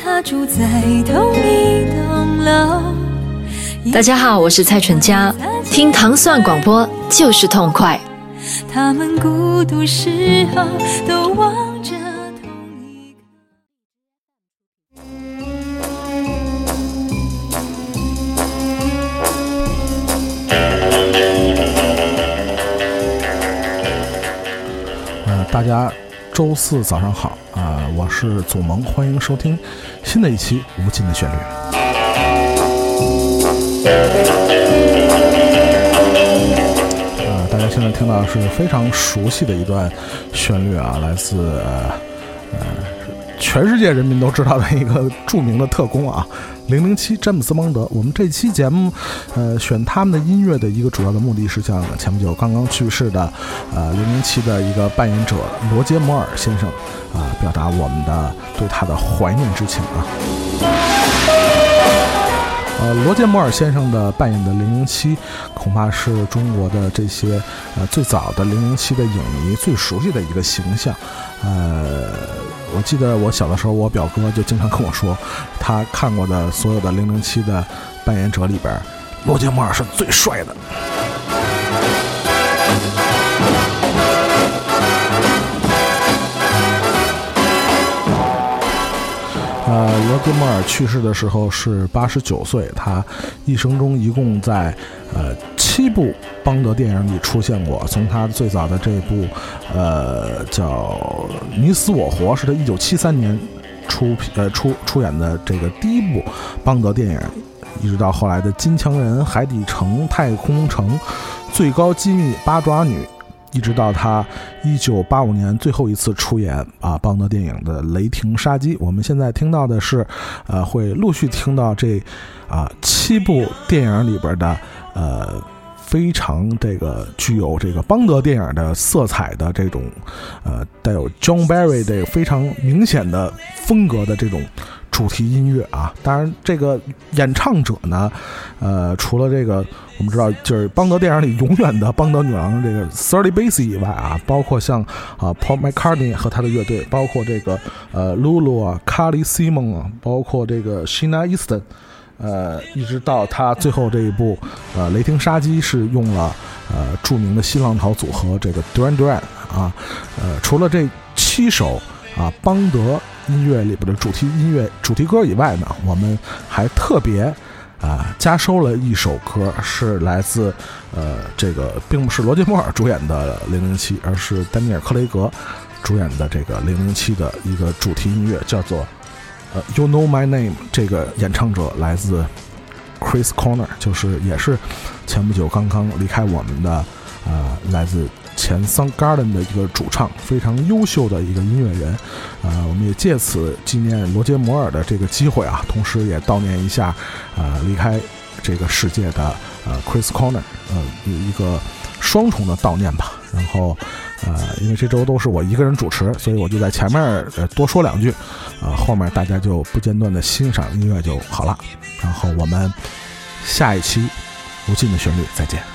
他住在同一栋楼。 大家好，我是蔡淳佳，听糖蒜广播就是痛快。 他们孤独时候都望着同一个。 大家周四早上好我是祖萌，欢迎收听新的一期无尽的旋律。大家现在听到的是非常熟悉的一段旋律来自全世界人民都知道的一个著名的特工007詹姆斯邦德。我们这期节目选他们的音乐的一个主要的目的是向前不久刚刚去世的007的一个扮演者罗杰摩尔先生表达我们的对他的怀念之情罗杰摩尔先生的扮演的007恐怕是中国的这些最早的007的影迷最熟悉的一个形象。我记得我小的时候，我表哥就经常跟我说，他看过的所有的007的扮演者里边，罗杰摩尔是最帅的。罗杰摩尔去世的时候是89岁，他一生中一共在7部邦德电影里出现过。从他最早的这部叫《你死我活》，是他1973年出演的这个第一部邦德电影，一直到后来的《金枪人》《海底城》《太空城》《最高机密》《八爪女》，一直到他1985年最后一次出演邦德电影的《雷霆杀机》。我们现在听到的是会陆续听到这7部电影里边的非常这个具有这个邦德电影的色彩的这种带有 John Barry 这个非常明显的风格的这种主题音乐当然这个演唱者呢除了这个我们知道就是邦德电影里永远的邦德女郎这个 Shirley Bassey 以外包括像Paul McCartney 和他的乐队，包括这个Lulu Carly Simon 包括这个 Sheena Easton一直到他最后这一部雷霆杀机是用了著名的新浪潮组合这个 Duran Duran 除了这7首邦德音乐里边的主题歌以外呢，我们还特别加收了一首歌，是来自这个并不是罗杰摩尔主演的007，而是丹尼尔·克雷格主演的这个007的一个主题音乐，叫做You Know My Name。 这个演唱者来自 Chris Cornell， 就是也是前不久刚刚离开我们的来自前 Soundgarden 的一个主唱，非常优秀的一个音乐人。我们也借此纪念罗杰摩尔的这个机会同时也悼念一下离开这个世界的Chris Cornell， 有一个双重的悼念吧。然后因为这周都是我一个人主持，所以我就在前面多说2句后面大家就不间断的欣赏音乐就好了。然后我们下一期无尽的旋律再见。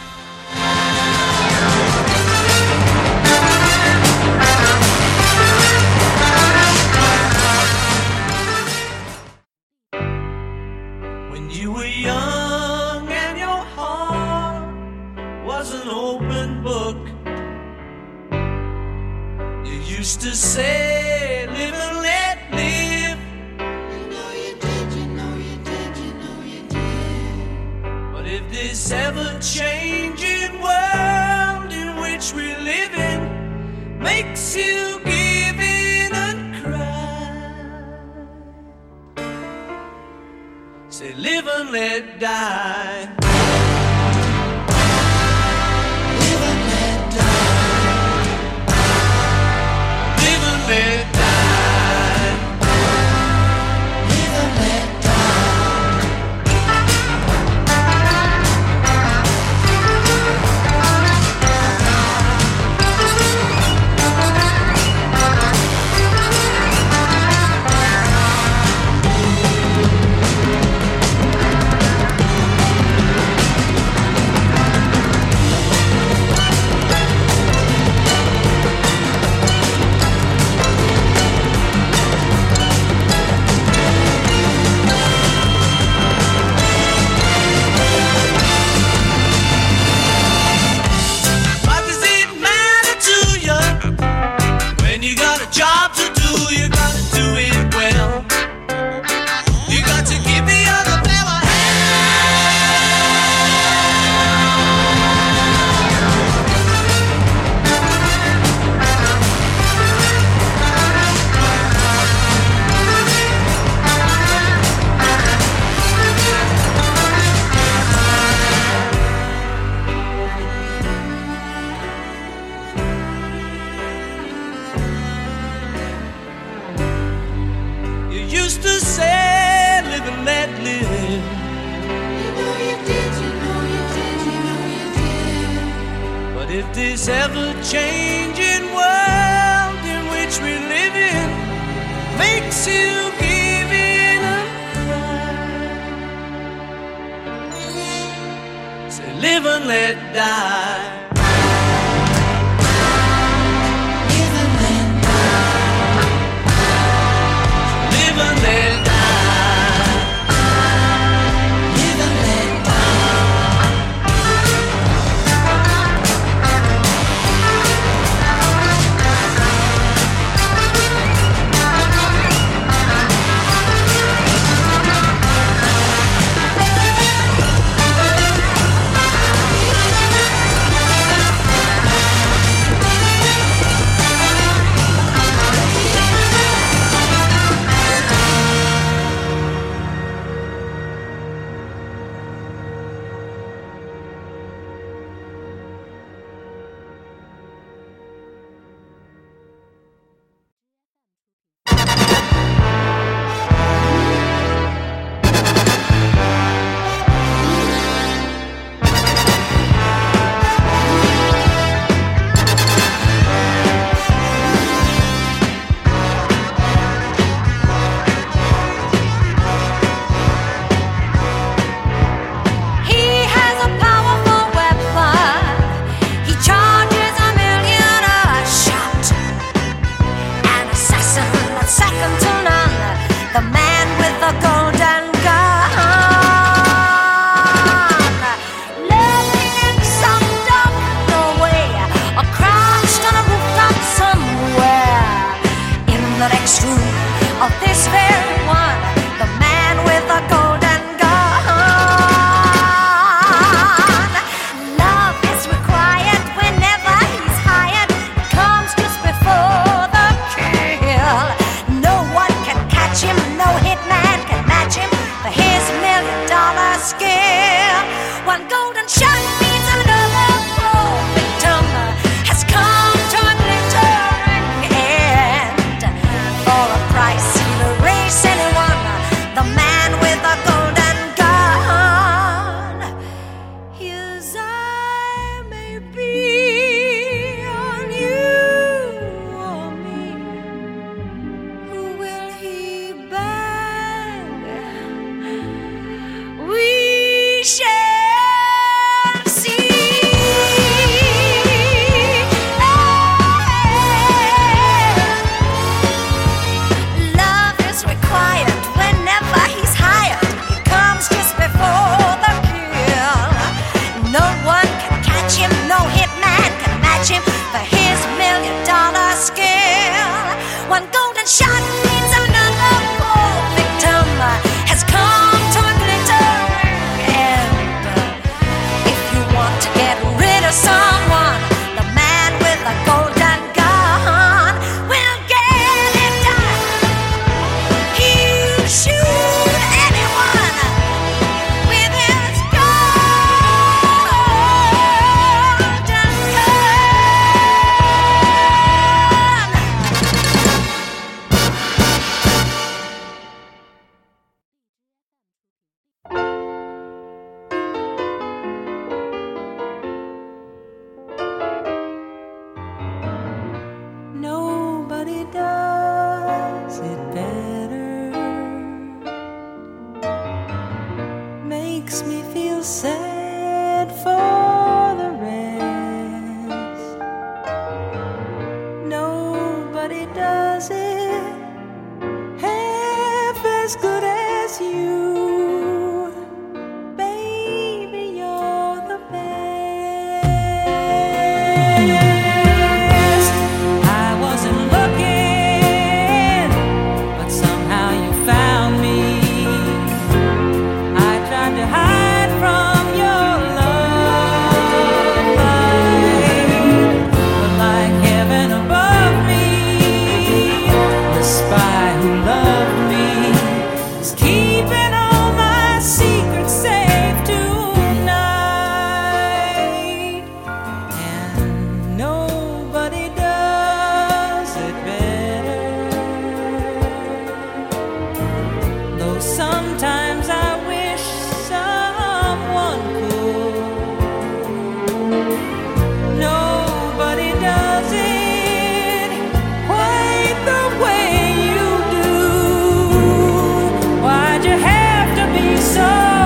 Used to say, live and let live. You know you did, you know you did, you know you did. But if this ever-changing world in which we live in makes you give in and cry, say live and let die. used to say, live and let live. You know you did, you know you did, you know you did. But if this ever-changing world in which we live in makes you give in and cry, say live and let die. Live and let die. Live and let die. Live and let keeping sometimes I wish someone could. Nobody does it quite the way you do. Why'd you have to be so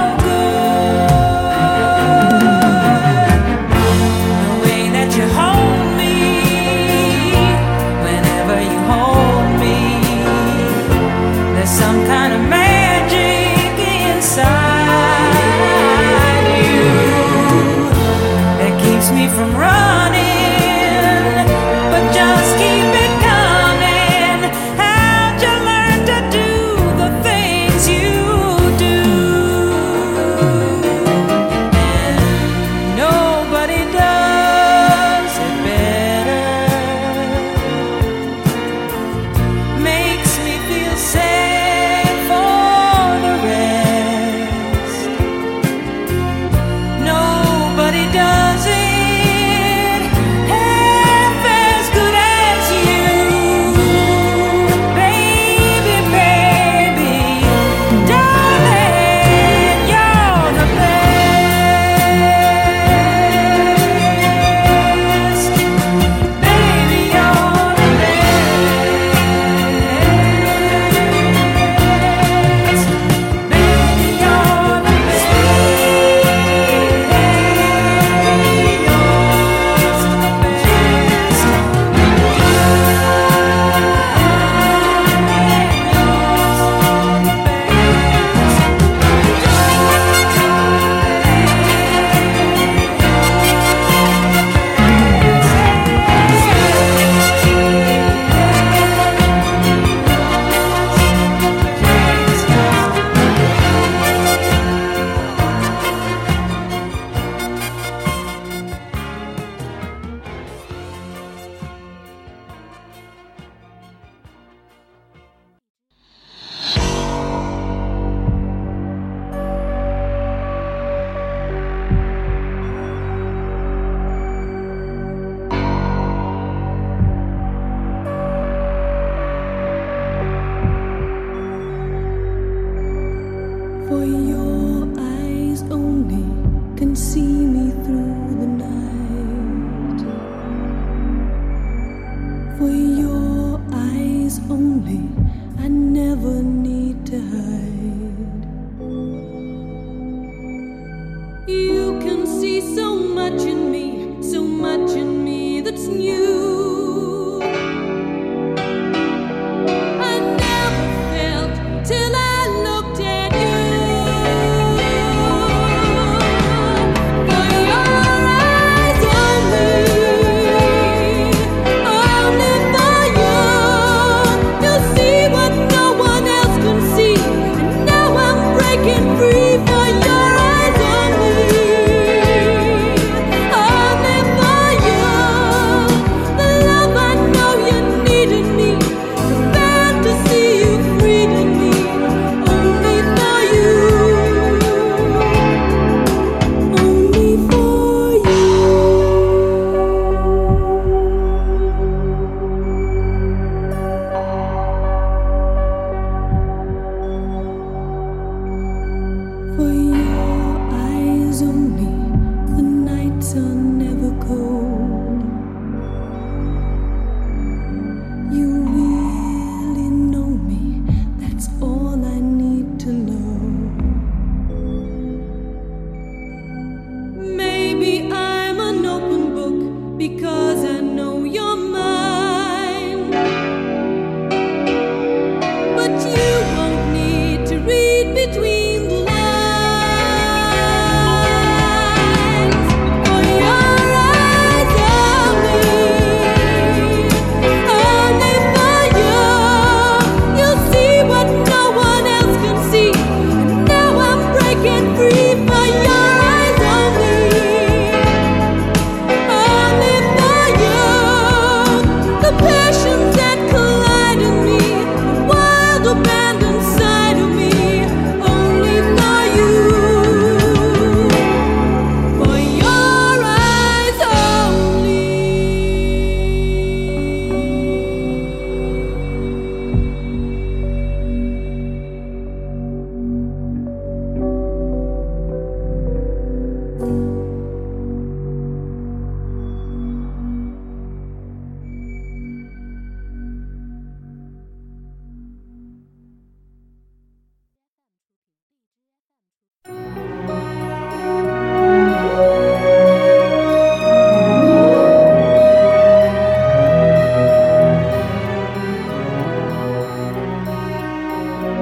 some kind of magic inside you that keeps me from running, but just keep it coming. How'd you learn to do the things you do? And nobody does it better. Makes me feel sad. Does it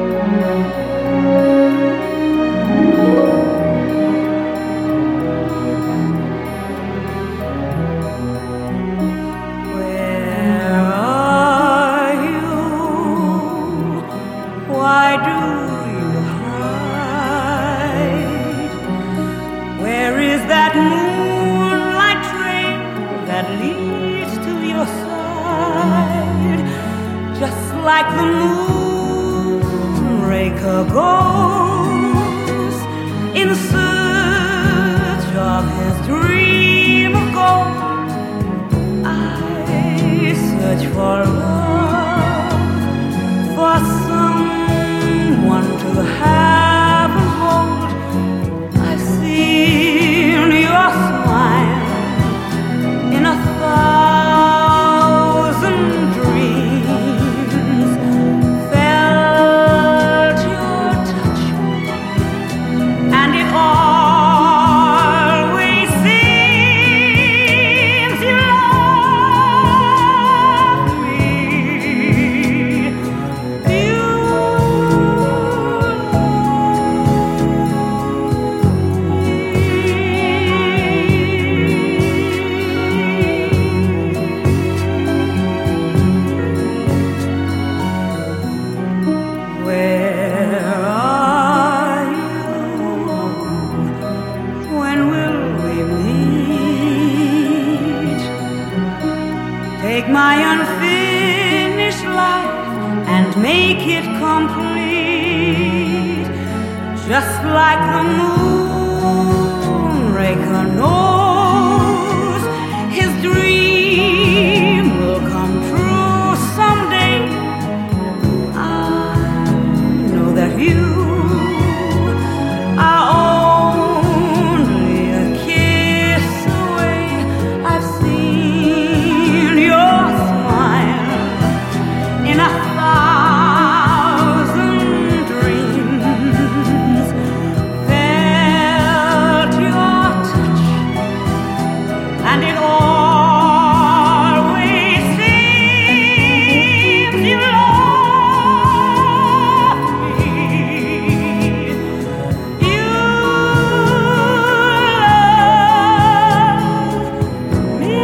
Like the moonraker goes in search of his dream of gold, I search for love, for someone to have and hold. I've seen your smile in 1,000 dreams, felt your touch, and it always seems you love me. You Where are you? When will we meet? Take my unfinished life and make it complete, just like the moonraker knows his dream will come true someday. I know that you are only a kiss away. I've seen your smile in 1,000 dreams, felt your touch, and it always seems you love me. You love me.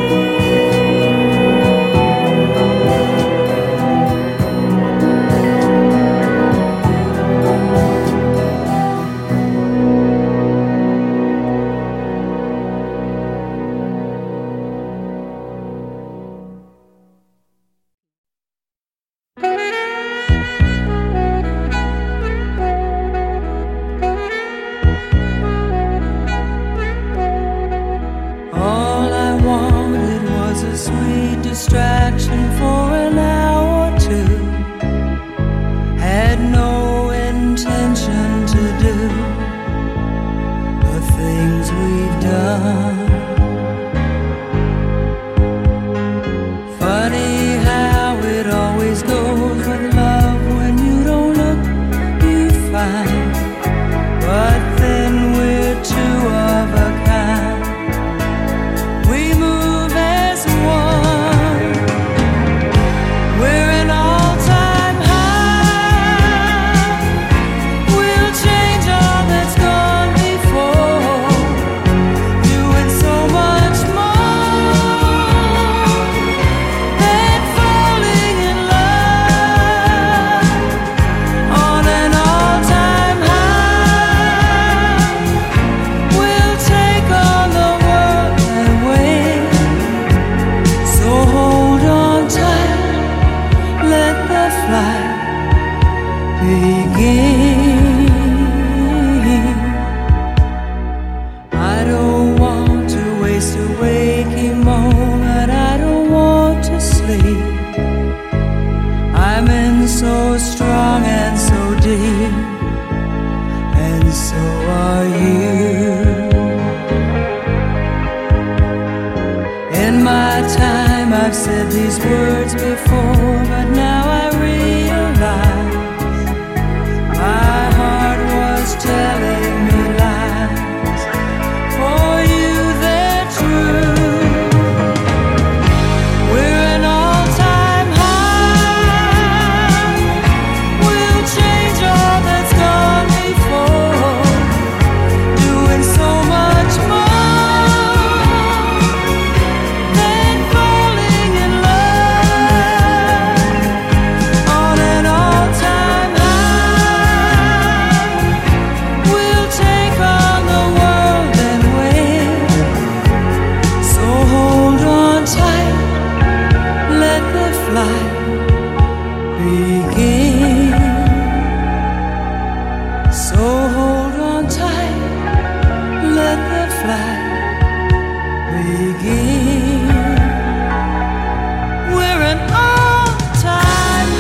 All I wanted was a sweet distraction for an hour or two. Had no intention to do the things we've done. Funny how it always goes with love. When you don't look, you find. But then we're two of a kind. We move as one. We're an all-time high. We'll change all that's gone before, doing so much more than falling in love. On an all-time high, we'll take on the world and win. So hold on tight, let the flight begin. I don't want to waste a waking moment. I don't want to sleep. I'm in so strong and so deep, and so are you. In my time I've said these words before, but now I realize my heart was telling me lies. For you they're true. We're an all-time high. We'll change all flight begin. We're an all-time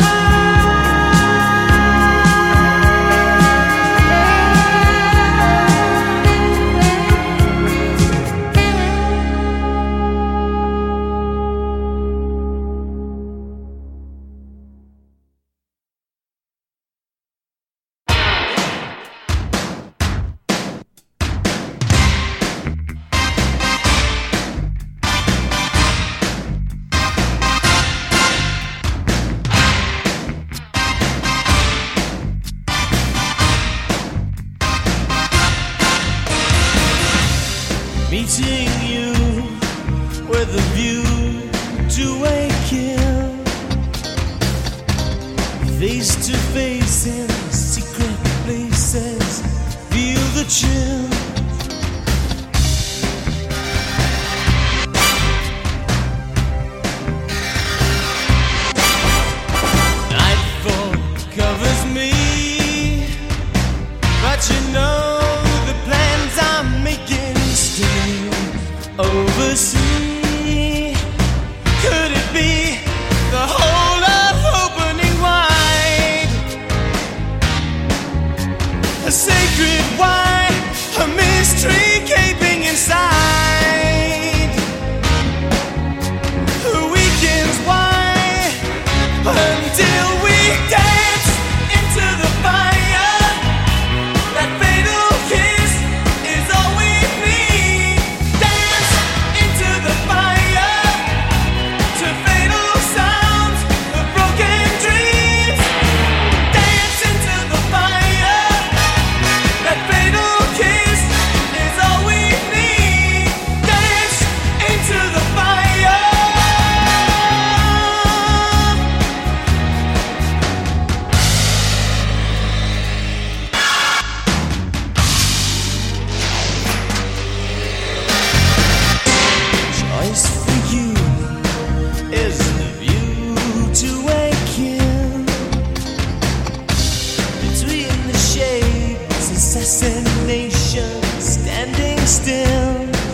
meeting you with a view to a kill, face to face in secret places, feel the chill. Nightfall covers me, but you know the plans I'm making still oversee. Could it be the whole of opening wide? A sacred why, a mystery gaping inside. The weekends why, until we dance into the fire. That fatal kiss is all we need. Dance into the fire to fatal sounds of broken dreams. Dance into the fire. That fatal kiss is all we need. Dance into the fire. Choice for you is the view to a kill. Between the shades, assassination standing still.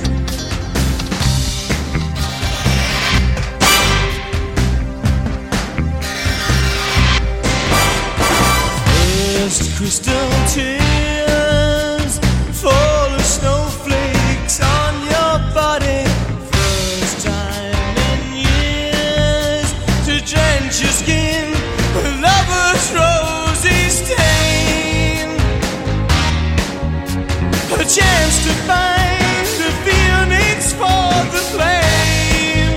First crystal tears fall as snowflakes on your body. First time in years to drench your skin with lover's rosy stain. A chance to find the phoenix for the flame.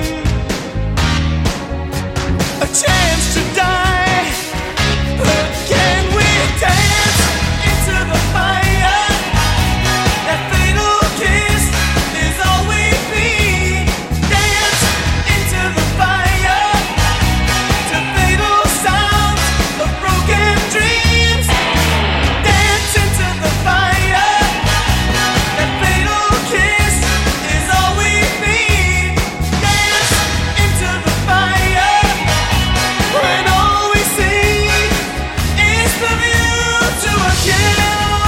A chance to die, but can we dance into the fire? That fatal kiss is all we need. Dance into the fire to fatal sounds of broken dreams. Dance into the fire. That fatal kiss is all we need. Dance into the fire when all we see is the view to a kill.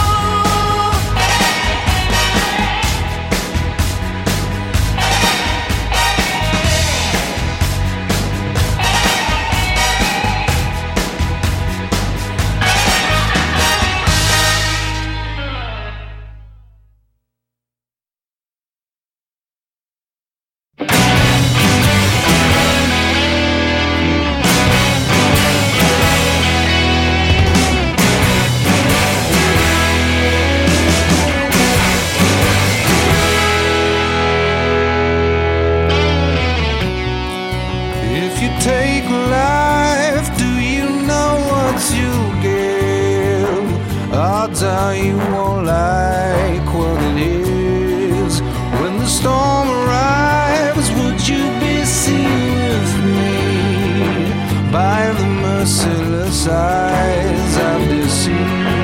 If you take life, do you know what you give? Odds are you won't like what it is. When the storm arrives, would you be seen with me by the merciless eyes of deceit?